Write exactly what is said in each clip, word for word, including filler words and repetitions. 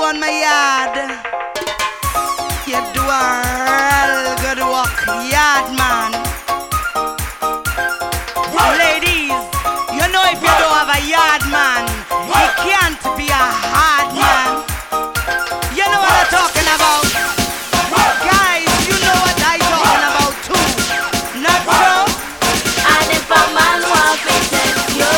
on my yard. You do a real good work, yard man. Ladies, you know if you don't have a yard man, he can't be a hard man. You know what I'm talking about? Guys, you know what I'm talking about too. Not so? And if a man wants to test you,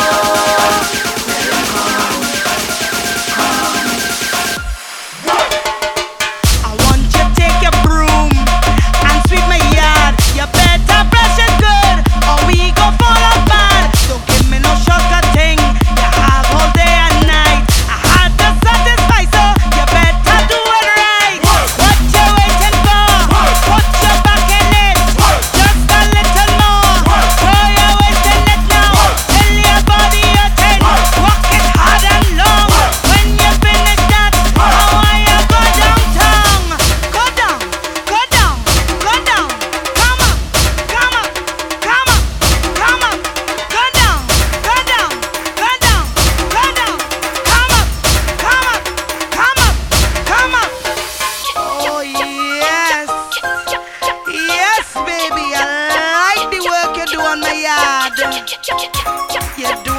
I want you to take your broom and sweep my yard. You better brush it good, or we go fall apart. Don't give me no shortcut thing. You have all day and night. I had to satisfy, so you better do it right. What you waiting for? Put your back in it. Just a little more. Throw your weight in it now. Tell your body you're ten. Walk it hard and long. When you finish that, I want you go downtown. Go down, go down, go down. Come up, come up, come up, come up. Go down, go down, go down, go down. Come up, come up, come up, come up. Oh yes, yes baby, I like the work you do on my yard. You do